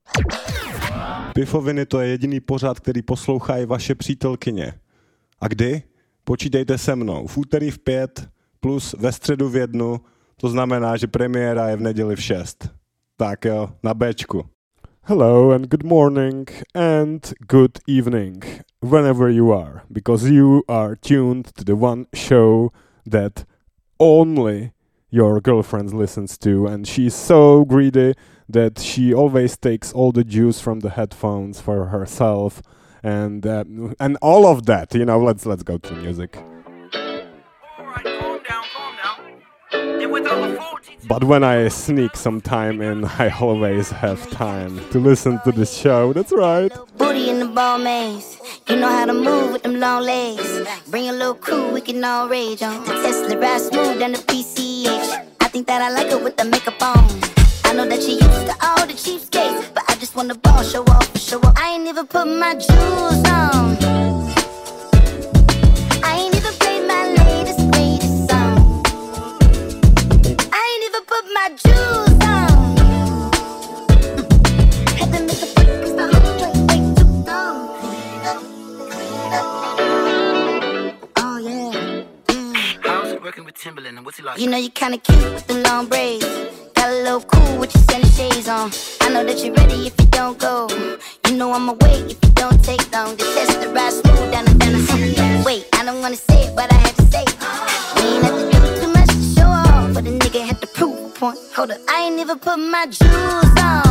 Pifoviny, to je jediný pořad, který poslouchají vaše přítelkyně. A kdy? Počítejte se mnou. V úterý v 5 plus ve středu v 1, to znamená, že premiéra je v neděli v 6. Tak jo, na Bčku. Hello and good morning and good evening, whenever you are, because you are tuned to the one show that only your girlfriend listens to, and she's so greedy that she always takes all the juice from the headphones for herself, and all of that. You know, let's go to music. But when I sneak some time in, I always have time to listen to this show. That's right. Booty in the ball maze. You know how to move with them long legs. Bring a little crew, we can all rage on. The Tesla ride smooth than the PCH. I think that I like it with the makeup on. I know that you're used to all the cheapskates, but I just want the ball, show off and show up. I ain't even put my jewels on. I ain't even played my latest greatest song. I ain't even put my jewels on. Had to make a break 'cause the whole joint way too long. Oh yeah. How's it working with Timberland and what's he like? You know you kinda cute with the long braids. Got a little cool with your sunny shades on. I know that you're ready if you don't go. You know I'ma wait if you don't take long. The test the ride smooth down the wait, I don't wanna say it, but I had to say it. We ain't have to do too much to show off, but a nigga had to prove a point. Hold up, I ain't even put my jewels on.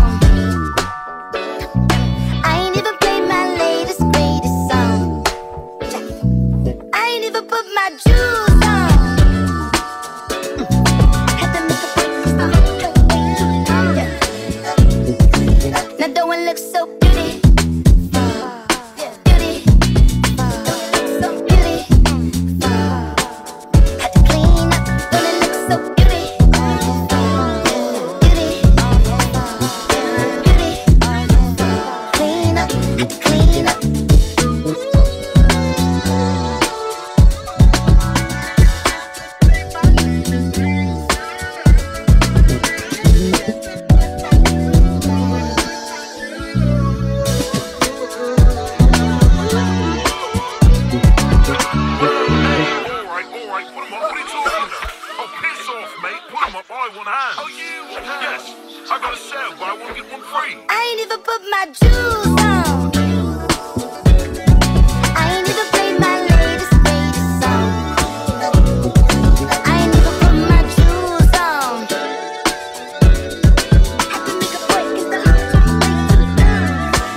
I ain't even played my latest greatest song. I ain't even put my jewels on. Now don't it look so beauty? Beauty. So beauty. Had to clean up. Don't it look so beauty? Beauty. Beauty. Clean up. Clean up. I ain't even put my jewels on. I ain't even played my latest greatest song. I ain't even put my jewels on. Had to make a break 'cause the whole joint way too long.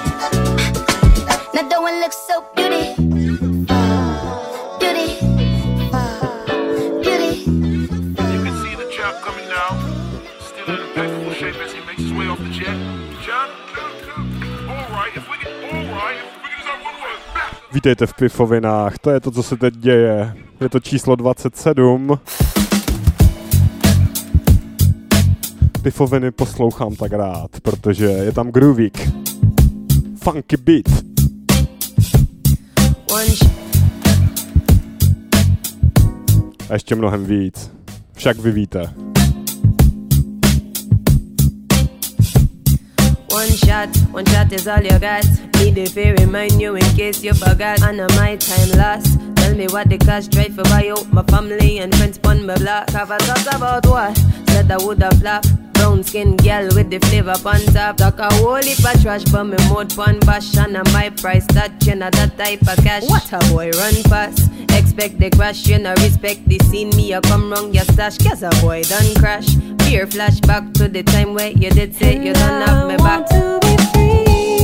Now don't it look so beauty? Beauty. Beauty. You can see the chap coming now, still in impeccable shape as he makes his way off the jet. John, all right, if we can just have one word. Vítejte v Pifovinách, to je to, co se teď děje. Je to číslo 27. Pifoviny poslouchám tak rád, protože je tam groovík. Funky beat. A ještě mnohem víc. Však vy víte. One shot is all you got. Need if I remind you in case you forgot. I know my time lost. Tell me what the cost, try for buy out my family and friends pon my block. Have a thought about what? Said I woulda flop. Brown skin girl with the flavor on top. Talk a whole heap of trash, but me mode pon bash. And my price that you know that type of cash. What a boy run fast. Expect the crash, you know respect the scene. Me a come wrong your stash, cause a boy done crash. Fear flashback to the time where you did say you done have me back. To be free.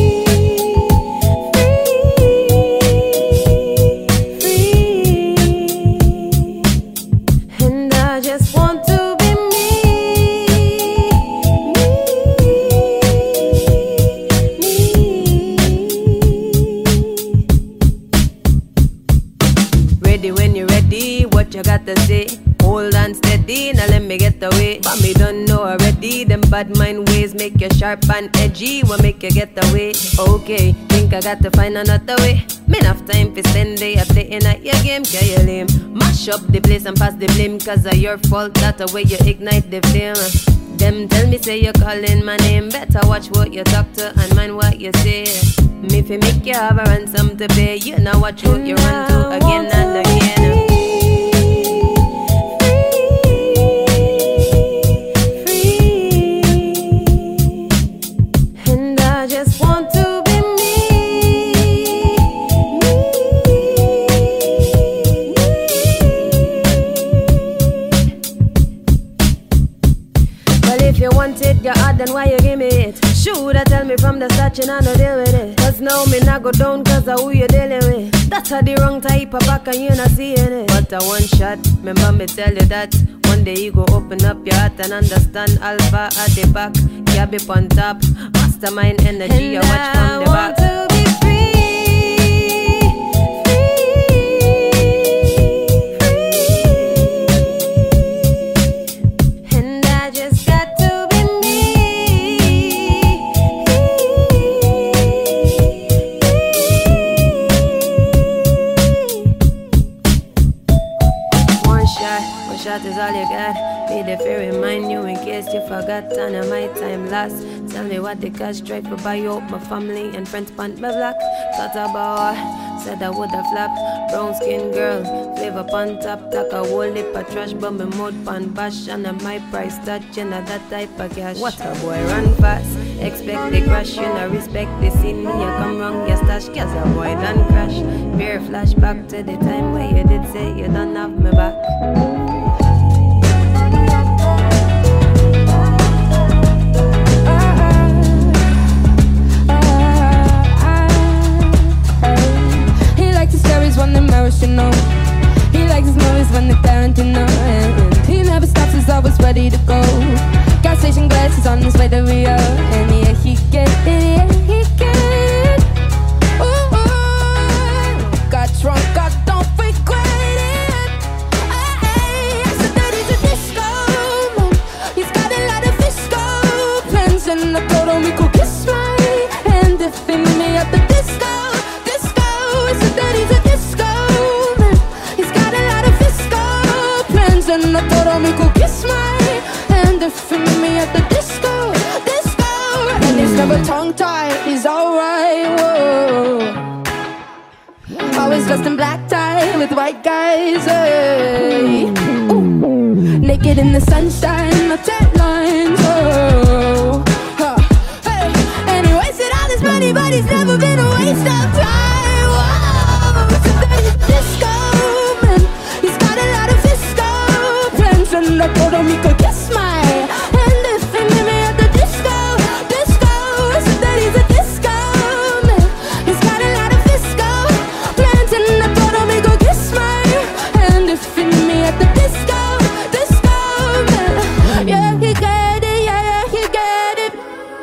You got to say, hold on steady, now let me get away. But me don't know already, them bad mind ways make you sharp and edgy, will make you get away. Okay, think I got to find another way. Me enough time for spend day a playing at your game, can you lame? Mash up the place and pass the blame, cause of your fault, that's the way you ignite the flame. Them tell me say you're calling my name. Better watch what you talk to and mind what you say. Me fi make you have a ransom to pay. You know watch what you run to again and again. Then why you give me it? Shoulda tell me from the start you not no deal with it. Cause now me not go down cause of who you dealing with. That's a the wrong type of back and you not seeing it. But a one shot, remember me tell you that. One day you go open up your heart and understand Alpha at the back, Gab on top, mastermind energy, you watch from the back. To be free. Shot is all you got. Be there to remind you in case you forgot. And my time lost. Tell me what the cash tried to buy out my family and friends pant my black. Thought about said I woulda flop. Brown skin girl, flavor pan top. Talk a whole lip of trash, but me mouth pan bash. And my price touch, you know that type of cash. What a boy run fast. Expect the crash, you know respect the scene. Me you come wrong, you stash, cause a boy done crash. Beer flashback to the time where you did say you don't have me back. When the emotional, he likes his movies when they're Tarantino, and he never stops, he's always ready to go. Gas station glasses on his way to Rio, and yeah, he get it, yeah, he get it. Ooh, got drunk, I don't regret it. I said that he's a disco man. He's got a lot of disco plans, and I told him he could kiss my hand if he meet me at the disco. I said that he's a and I told him he could kiss my hand if he meet me at the disco. And he's never tongue-tied, he's alright, whoa. Always dressed in black tie with white guys, hey. Ooh. Naked in the sunshine, no tan lines, oh. Hey. And he wasted all his money, but he's never been a waste of time, whoa. So that he's disco man, he's got a lot of and I told him he could kiss my hand if he meet me at the disco. I said that he's a disco man. He's got a lot of disco plans, and I told him he could kiss my hand if he meet me at the disco man. Yeah, he get it, yeah, he get it.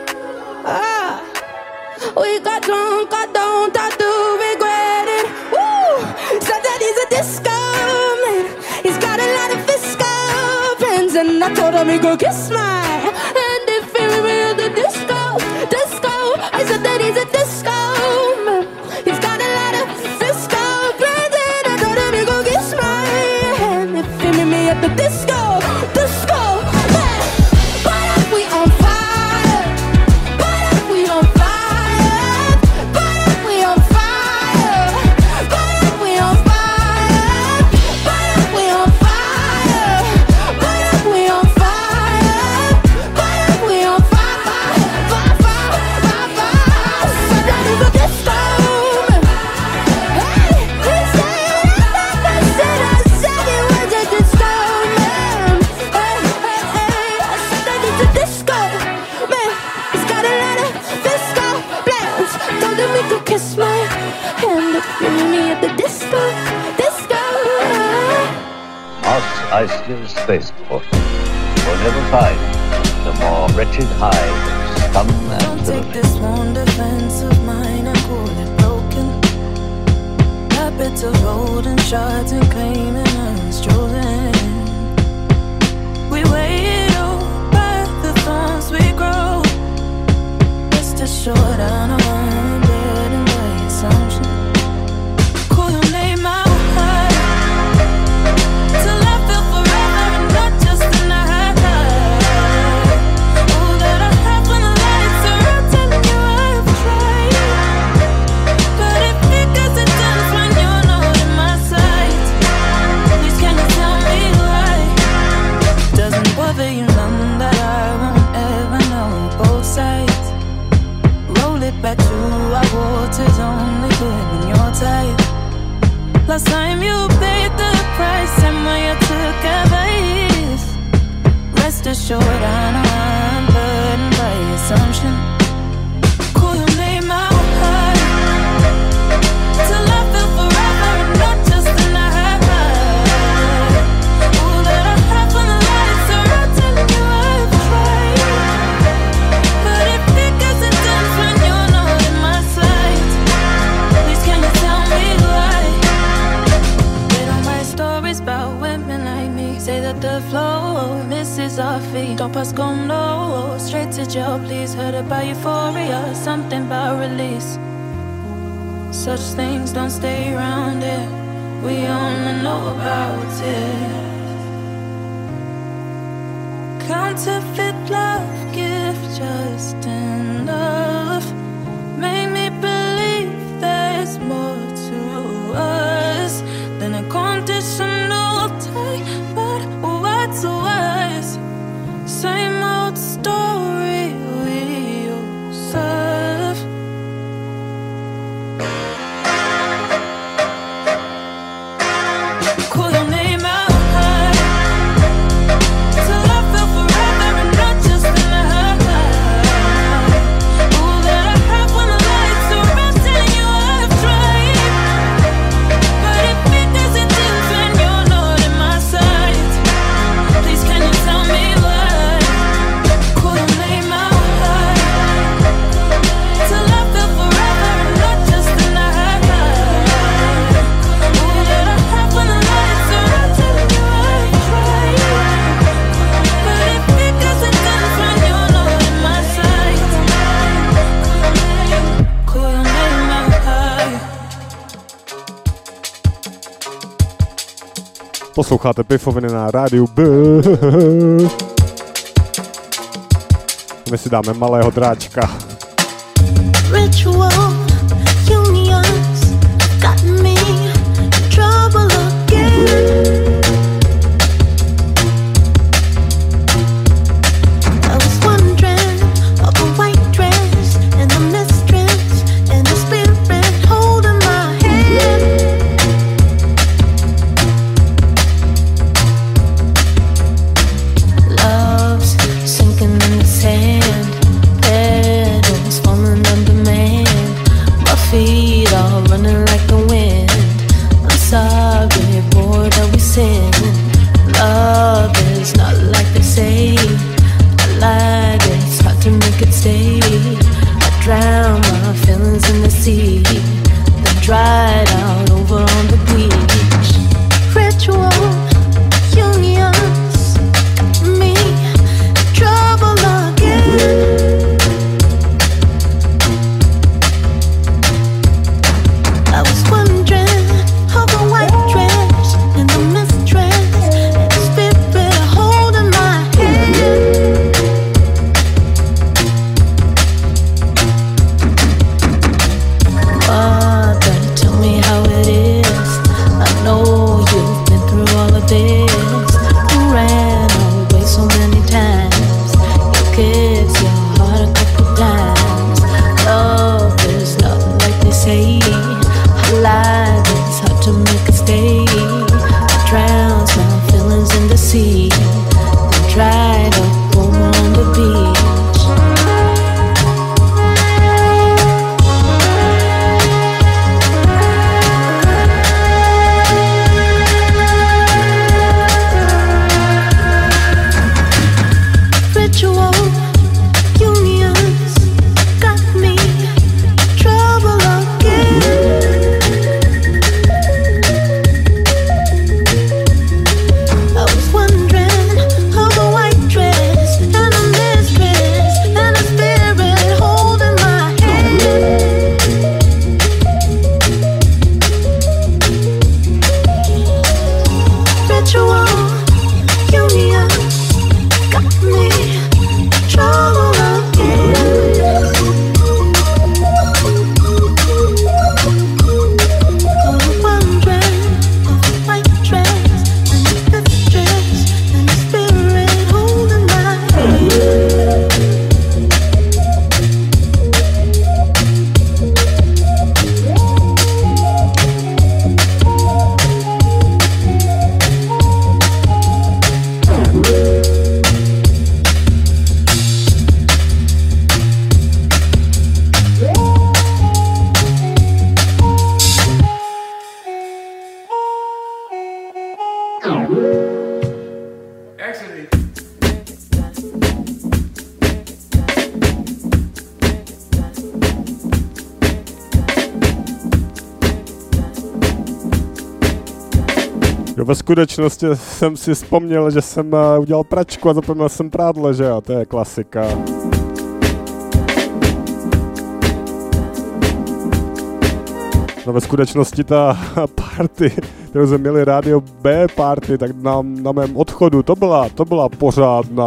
We got drunk, I do regret it. Woo! Said that he's a disco man. He's got a lot of disco. And I told him he go kiss my hand if he meet me at the disco. I said that he's a disco man. He's got a lot of disco plans, and I told him he go kiss my hand if he meet me at the disco. But if we on fire, but if we on fire, but if we on fire, but if we on fire, but if we on fire. We on fire, but if we on fire, so that is a disco man. Hey, he said I said it was a disco man. Hey, I said that it's a disco man. He's got a lot of disco plans. Told him he could kiss my hand if you meet me at the disco. Mos Eisley's spaceport will never find the more wretched hive of scum and Don't take this one defense of mine and call it broken. Habits of holding shots and claiming I was chosen. We wait by the thorns we grow. Just to show down on one bed and by assumption. Call your name out. Till I feel forever and not just a night. back to our waters only good when you're tired. Last time you paid the price and when you took advice. Rest assured I know I'm burdened by assumption. Call your name out high till I feel forever and not just a night. All that I have on the lights are out telling you I've tried. But if it doesn't dance when you're not in my sight, please can you tell me why? They don't write stories about women like me. Say that the flow misses our feet. Don't pass go no, straight to jail please. Heard about euphoria, something about release. Such things don't stay around here. We only know about it. Counterfeit love, gift just enough. Make me believe there's more to us than a conditional tie. But what's wise? Same old story we serve. Call your name out high till I feel forever and not just a night. All that I have when the lights are out telling you I've tried. But if it doesn't dance when you're not in my sight, please can you tell me why? Call your name out high till I feel forever and not just a night. All that I have when the lights are out telling you I've tried. But if it doesn't dance when you're not in my sight, call your name out high. Posloucháte Pifoviny na rádiu B. My si dáme malého dráčka. Ritual unions got me in trouble again. I was wondering of a white dress and the mistress and the spirit holding my hand. Love's sinking in the sand, petals falling on demand. My feet are running like the wind. I'm sorry, boy, that we sin. Love is not like they say. I lied, it's hard to make it stay. I drown my feelings in the sea. They dried out over on the beach. Ritual unions got me in trouble again. I was wondering of a white dress and the mistress and the spirit holding my hand. Father, tell me how it is. Ve skutečnosti jsem si vzpomněl, že jsem udělal pračku a zapomněl jsem prádlo, že jo, to je klasika. No ve skutečnosti ta party, kterou jsme měli rádio B party, tak na mém odchodu to byla pořádná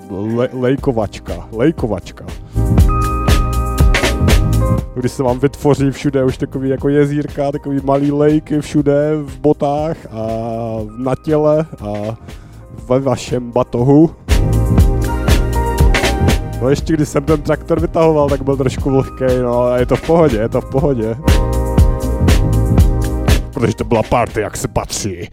lejkovačka. Když se vám vytvoří všude už takový jako jezírka, takový malý lejky všude v botách a na těle a ve vašem batohu. No ještě když jsem ten traktor vytahoval, tak byl trošku vlhkej, no a je to v pohodě. Protože to byla party, jak se patří.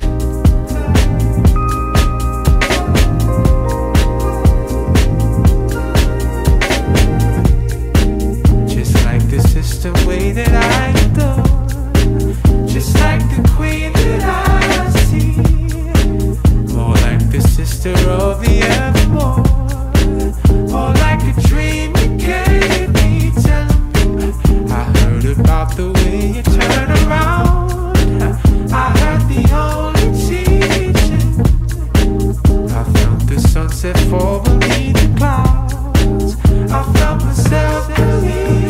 The way that I adore, just like the queen that I see, more like the sister of the evermore, more like a dream you gave me. Tell me, I heard about the way you turn around. I heard the only teaching. I felt the sunset fall beneath the clouds. I felt myself believe.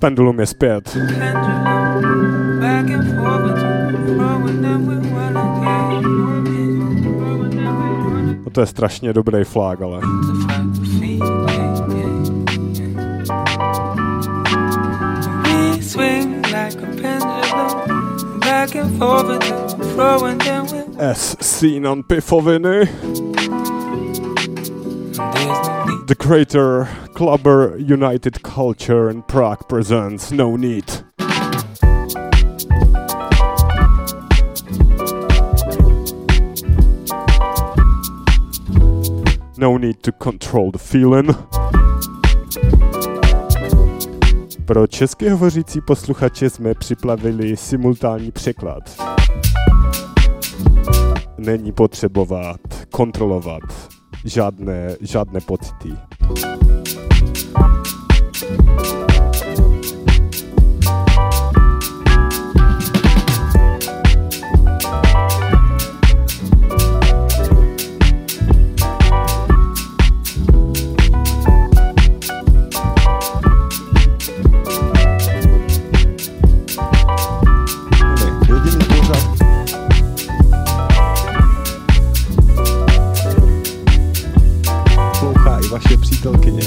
Pendulum je zpět. No to je strašně dobrý flag, ale... As seen on Pifoviny. The Greater Clubber United Culture in Prague presents No Need. No need to control the feeling. Pro česky hovořící posluchače jsme připravili simultánní překlad. Není potřebovat kontrolovat žádné pocity. Vaše přítelkyně.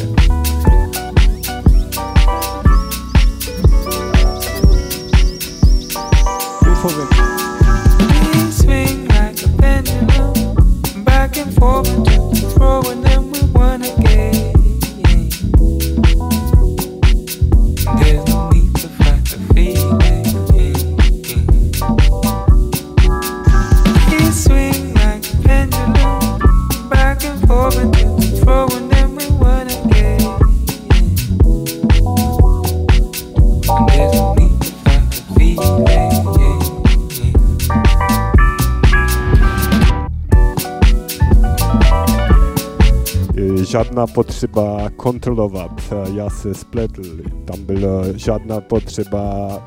Žádná potřeba kontrolovat, já se spletl, tam byla žádná potřeba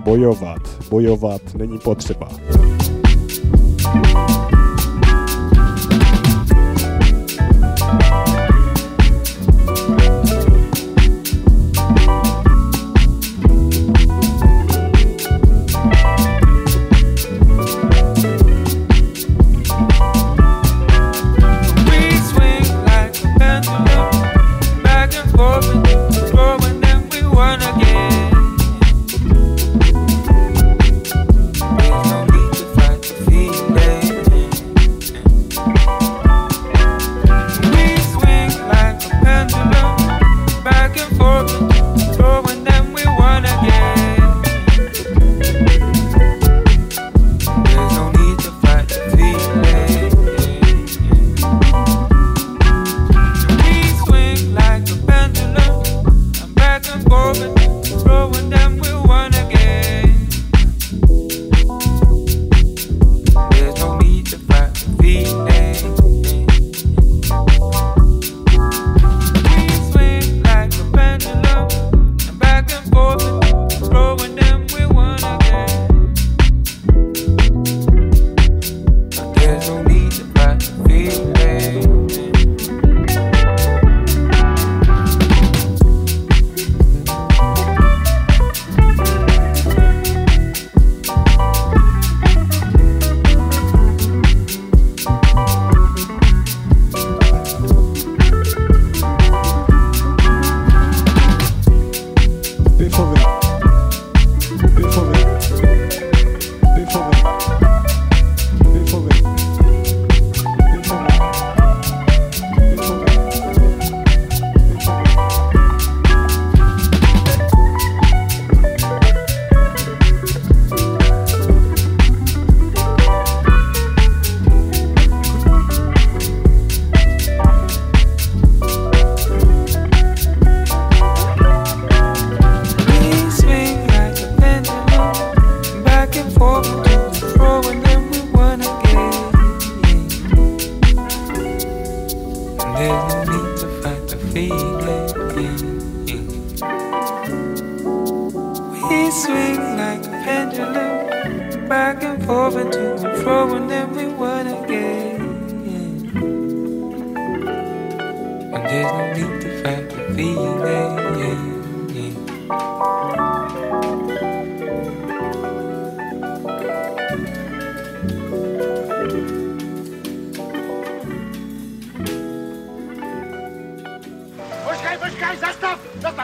bojovat není potřeba. There's no need to fight the feeling. počkej, zastav!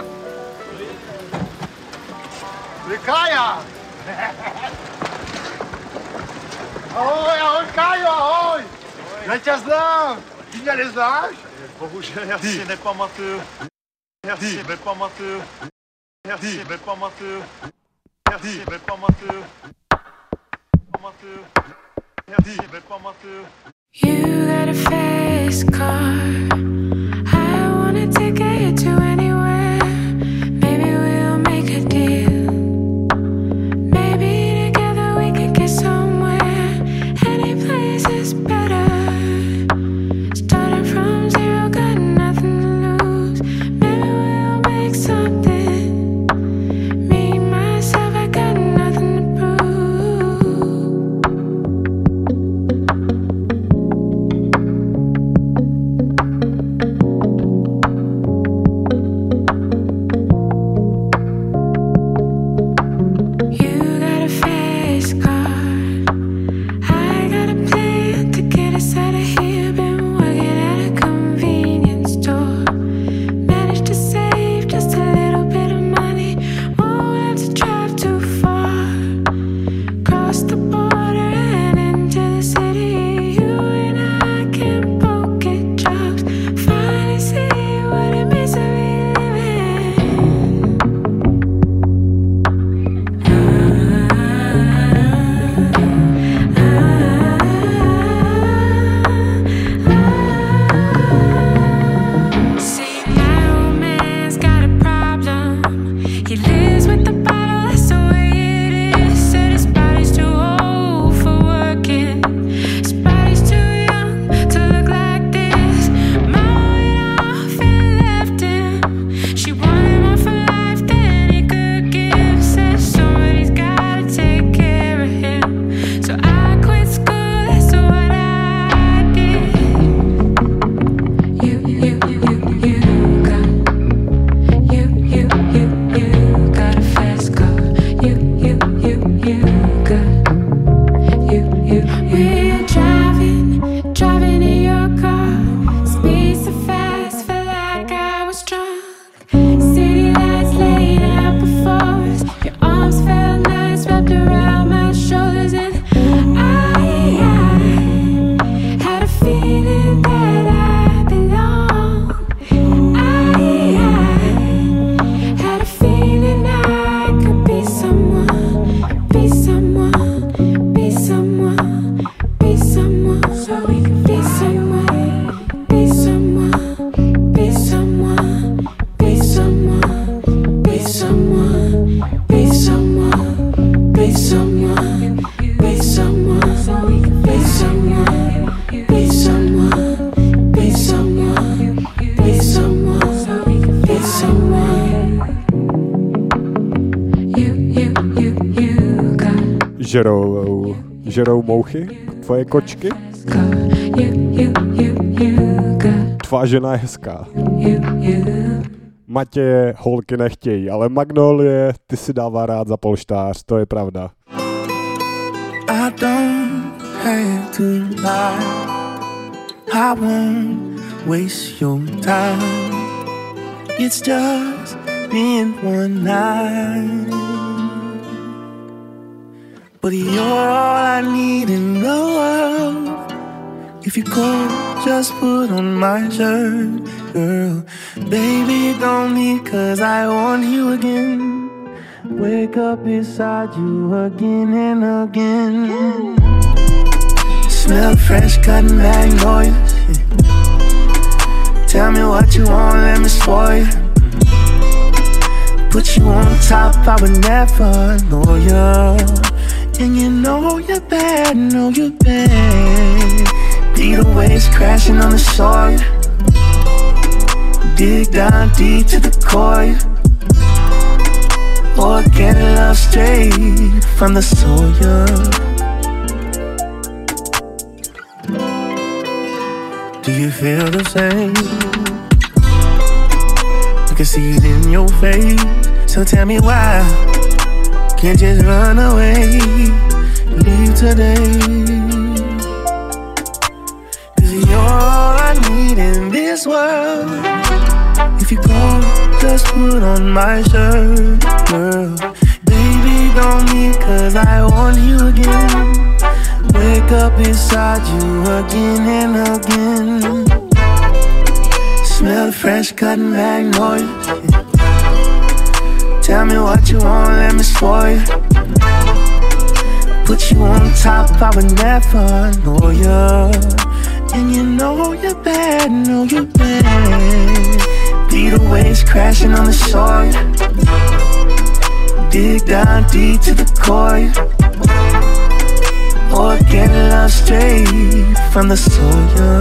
Kája! Ahoj, Kájo, ahoj! Já tě znám! Ty mě neznáš? Bohužel já si nepamatuju. Já si nepamatuju. You got a fast car. I wanna take you to anywhere. Maybe we'll make a deal. Maybe together we could get somewhere. Any place is better. Starting from zero, got nothing to lose. Maybe we'll make something. Me, myself, I got nothing to prove. You got a fast car. I got a plan to get us out of here. Been working at a convenience store. Managed to save just a little bit of money. Won't have to drive too far. Cross the border and into the city. You and I can both get jobs. Finally see what it means to be living. See, my old man's got a problem. He lives with the bottle, that's the way it is. Said his body's too old for working. His body's too young to look like this. Mama went off and left him. She wanted more for life than he could give. Said somebody's gotta take care of him. So I quit school, that's what I did. You got a fast car. You got. We're driving in your car. Speed so fast, felt like I was drunk. City lights laid out before us. Your arms felt nice wrapped around my shoulders, and I had a feeling that I belong. I had a feeling I could be someone, be someone, be someone, be someone. So we could be someone, be someone, be someone, be someone, be someone, be someone, be someone, be someone. So we could be someone, be someone, be someone, be someone. So we could be someone. You got. Žerou mouchy? Tvoje kočky? Tvá žena je hezká. Matěje holky nechtějí, ale Magnolie ty si dává rád za polštář, to je pravda. I don't have to lie. I won't waste your time. It's just been one night, but you're all I need in the world. If you go, just put on my shirt, girl. Baby, don't leave, 'cause I want you again. Wake up beside you again and again. Smell fresh cotton magnolias. Tell me what you want, let me spoil you. Put you on top, I would never know you. And you know you're bad, know you're bad. Beat the waves crashing on the shore. Dig down deep to the core. Organic love straight from the soil. Do you feel the same? I can see it in your face. So tell me why can't just run away, leave today. 'Cause you're all I need in this world. If you go, just put on my shirt, girl. Baby, don't leave, cause I want you again. Wake up beside you again and again. Smell the fresh cut magnolias. Tell me what you want, let me spoil you. Put you on top, I would never know you. And you know you're bad, know you're bad. Beat the waves crashing on the shore. Dig down deep to the core. Or get love straight from the soil.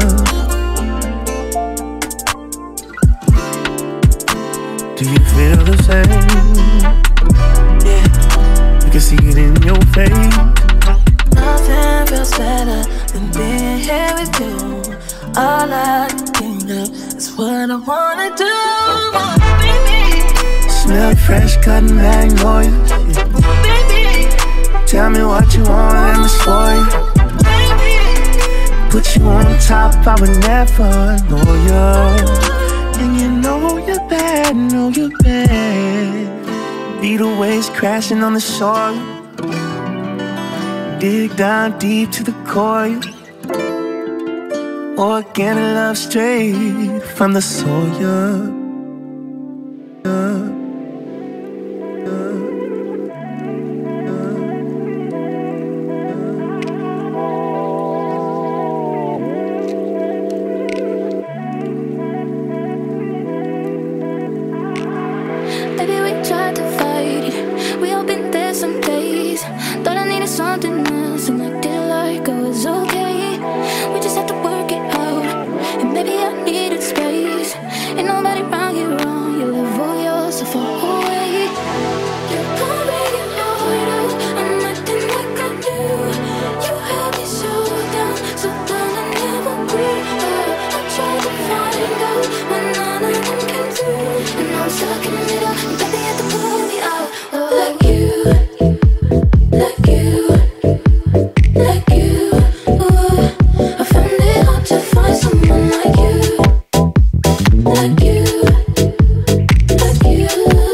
Do you feel the same? Yeah, you can see it in your face. Nothing feels better than being here with you. All I think of is what I wanna do. Baby, smell fresh cut magnolias. Baby, tell me what you want, let me spoil you. Baby, put you on top, I would never know you. And you know you're bad, know you're bad. Beat the waves crashing on the shore. Dig down deep to the core. Organic love straight from the soil. Baby, we tried to fight it. We all been there some days. Thought I needed something else and acted like I was okay. We just had to work it out. And maybe I needed space. Ain't nobody around you wrong. You live all yourself far away. You can't break your heart out. I'm acting like I do. You held me so down I never grew up. I tried to find out when none of them came through. And now I'm stuck in the middle. Baby, you have to pull me out. Like you. Like you, like you, ooh. I found it hard to find someone like you, like you, like you,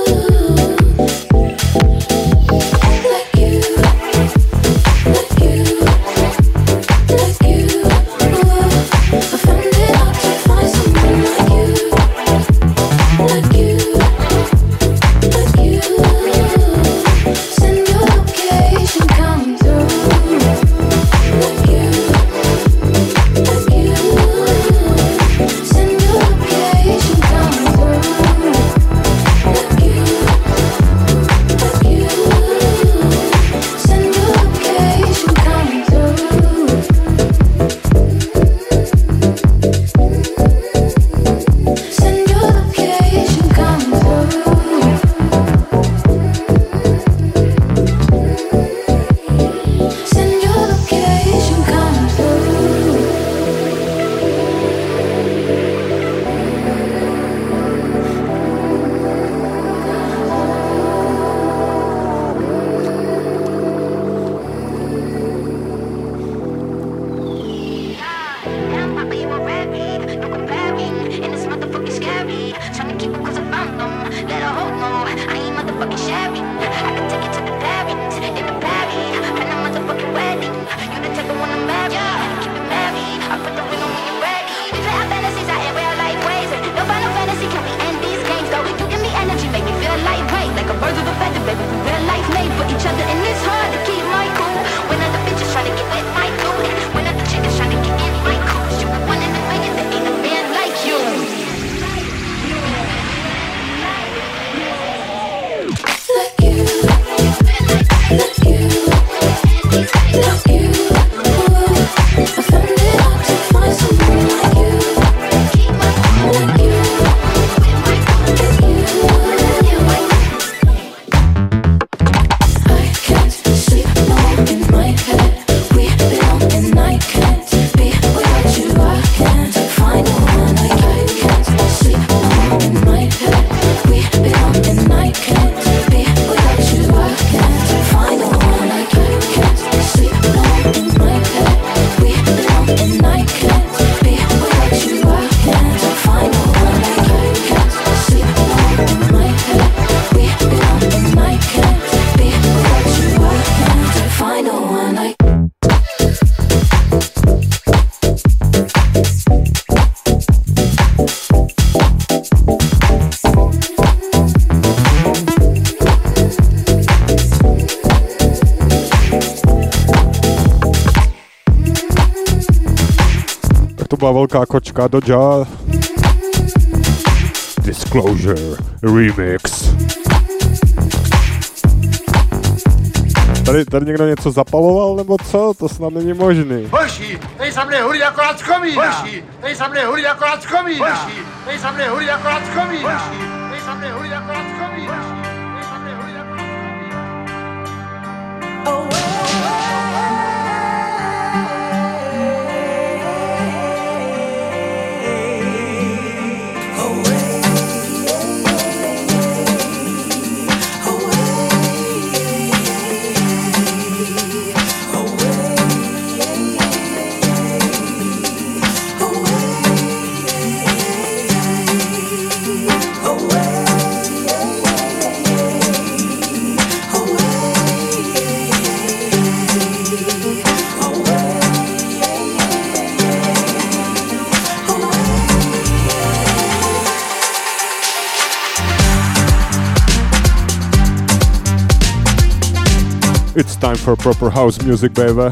like you, like you, like you, ooh. I found it hard to find someone like you, like you, like you. Send your location, come through. Like you, like you. Send your location, come through. Like you, like you. Send your location, come through. Send your location, come through. Send your location, come through. Damn, Papa, you a rabbit. No comparing, and it's motherfucking scary. Tryna keep it 'cause I found them. Let her hold no, I ain't motherfucking sharing. I can take it to the parents, in the party. Plan a motherfucking wedding. You the type of one I'm married. Keep it married. I put the ring on when you're ready. We play our fantasies out in real life ways. No final fantasy, can we end these games? Though you give me energy, make me feel lightweight. Like a bird with a feather, baby, we real life made for each other. And it's hard to keep my cool. When other bitches try to get with my dude. When other chickens try to get in my cool. You the one in the million, there ain't a man like you. Like you, like you, like you, ooh. I found it hard to find someone like you, like you, like you. I can't sleep alone in my head. We belong and I can't be without you. I can't find no one like I can't sleep alone in my head. We belong and I can't be without you. I can't find no one like I can't sleep alone in my head. We belong and I can't be without you. I can't find no one like I can't sleep alone in my to byla velká kočka do jazz. Disclosure Remix. Tady někdo něco zapaloval, nebo co? To snad není možný. Hoši, tady se mne hudí akorát z komína. Hoši, tady se mne hudí akorát z komína. Hoši, tady se mne hudí akorát z komína. Hoši, tady se mne hudí akorát z komína. Tady se mne hudí akorát z komína. It's time for proper house music, baby.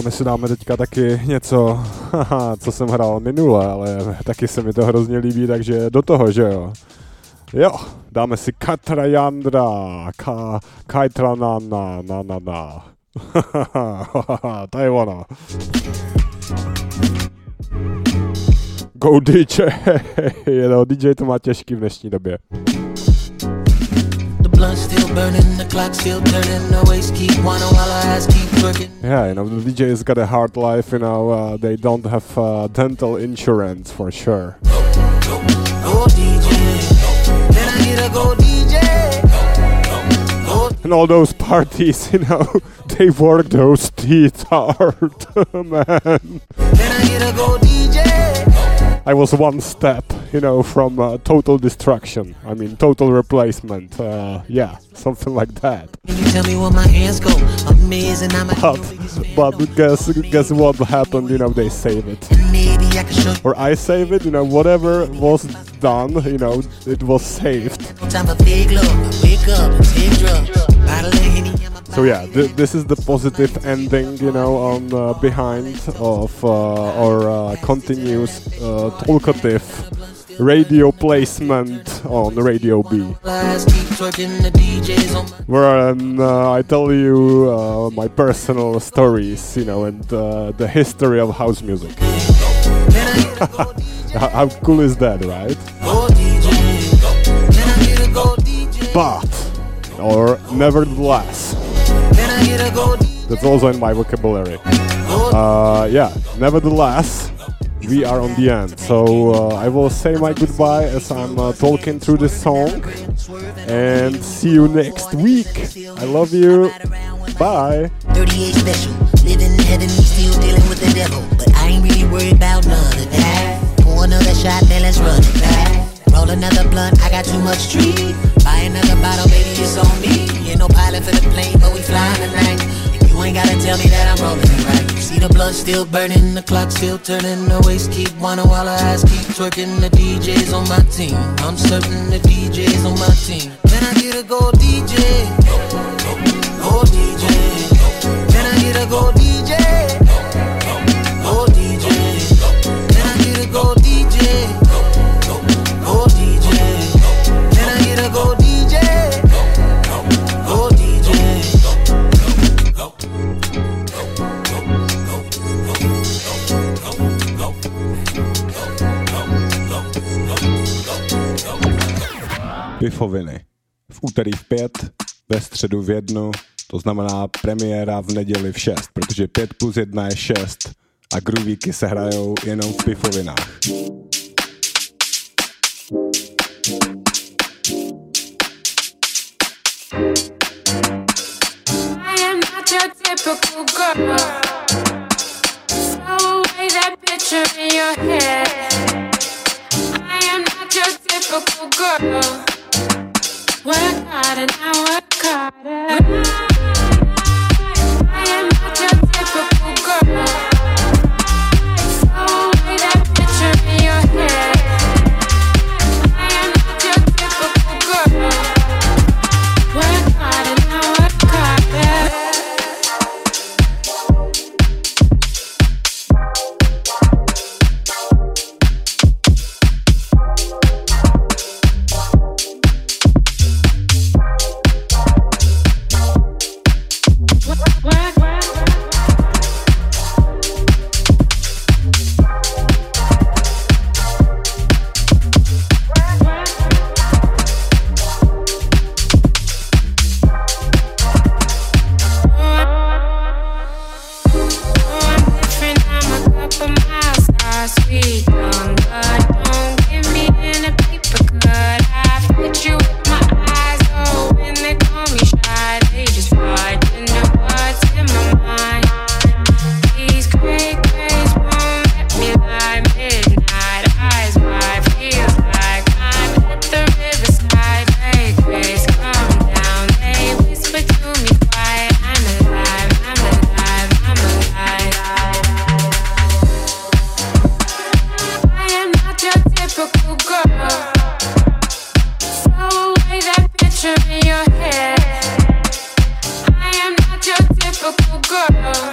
A my si dáme teďka taky něco, co jsem hrál minule, ale taky se mi to hrozně líbí, takže do toho, že jo. Jo, dáme si Katrayandra, Kaitranana, na. To je ono. Go DJ, no, DJ to má těžký v dnešní době. Yeah, you know, the DJ's got a hard life, you know, they don't have dental insurance for sure. Go DJ, then I need a go DJ. And all those parties, you know, they work those teeth hard, man. Then I need a go DJ. I was one step, you know, from total destruction. I mean, total replacement. Yeah, something like that. Can you tell me where my hands go? Amazing, I'm but guess what happened? You know, they save it. Maybe I can show you. Or I save it. You know, whatever was done, you know, it was saved. Time for big love. Wake up and take drugs. So yeah, this is the positive ending, you know, on behind of our continuous talkative radio placement on Radio B, where I tell you my personal stories, you know, and the history of house music. How cool is that, right? But, or nevertheless, that's also in my vocabulary. Yeah, nevertheless, we are on the end. So I will say my goodbye as I'm talking through this song. And see you next week. I love you. Bye. 38 special, living in heaven, still dealing with the devil. But I ain't really worried about none of that. Pour another shot, then let's run it back. Roll another blunt, I got too much treat. Buy another bottle, baby, it's on me. Ain't no pilot for the plane, but we flying tonight. You ain't gotta tell me that I'm rolling it right. See the blood still burning, the clock still turning. The waist keep whining while her ass keep twerking. The DJ's on my team, I'm certain the DJ's on my team. Then I get a go DJ, go DJ. Then I get a go DJ, go DJ. Then I get a go DJ, go DJ. Then I get a go DJ, go DJ. Pifoviny. V úterý v 5, ve středu v 1, to znamená premiéra v neděli v 6, protože 5 plus 1 je 6 a groovíky se hrajou jenom v pifovinách. I am not your typical girl. Throw away that picture in your head. I am not your typical girl. Work hard and I work harder. I am not your typical girl. Throw away that picture in your head. I am not your typical girl. Work hard and I work harder. Sweet young blood, don't give me any paper cut. I fit you with my eyes, oh, when they call me shy, they just fight into what's in my mind. These gray grays won't let me lie. Midnight, eyes wide, feels like I'm at the riverside. Gray grays come down, they whisper to me quiet. I'm alive, I'm alive, I'm alive. Typical girl. Throw away that picture in your head. I am not your typical girl.